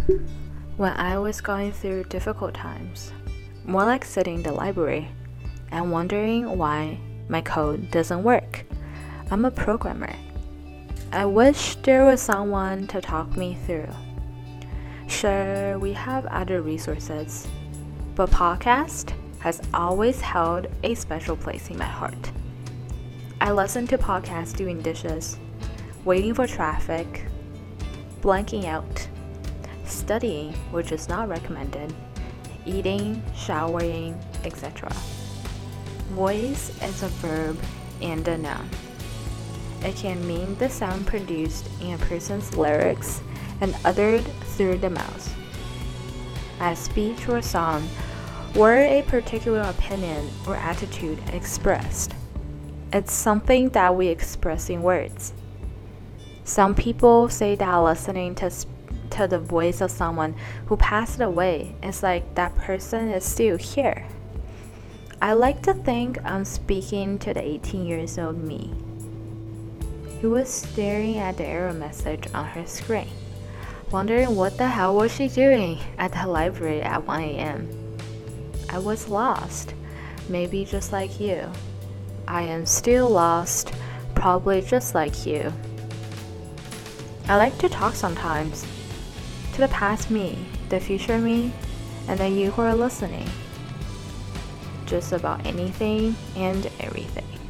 When I was going through difficult times, more like sitting in the library and wondering why my code doesn't work. I'm a programmer. I wish there was someone to talk me through. Sure, we have other resources, but podcast has always held a special place in my heart. I listen to podcasts doing dishes, waiting for traffic, blanking out, studying, which is not recommended, eating, showering, etc. Voice is a verb and a noun. It can mean the sound produced in a person's lyrics and uttered through the mouth. As speech or song, or a particular opinion or attitude expressed. It's something that we express in words. Some people say that listening to the voice of someone who passed away is like that person is still here. I like to think I'm speaking to the 18 years old me, who was staring at the error message on her screen, wondering what the hell was she doing at the library at 1 a.m. I was lost, maybe just like you. I am still lost, probably just like you. I like to talk sometimes, to the past me, the future me, and then you who are listening. Just about anything and everything.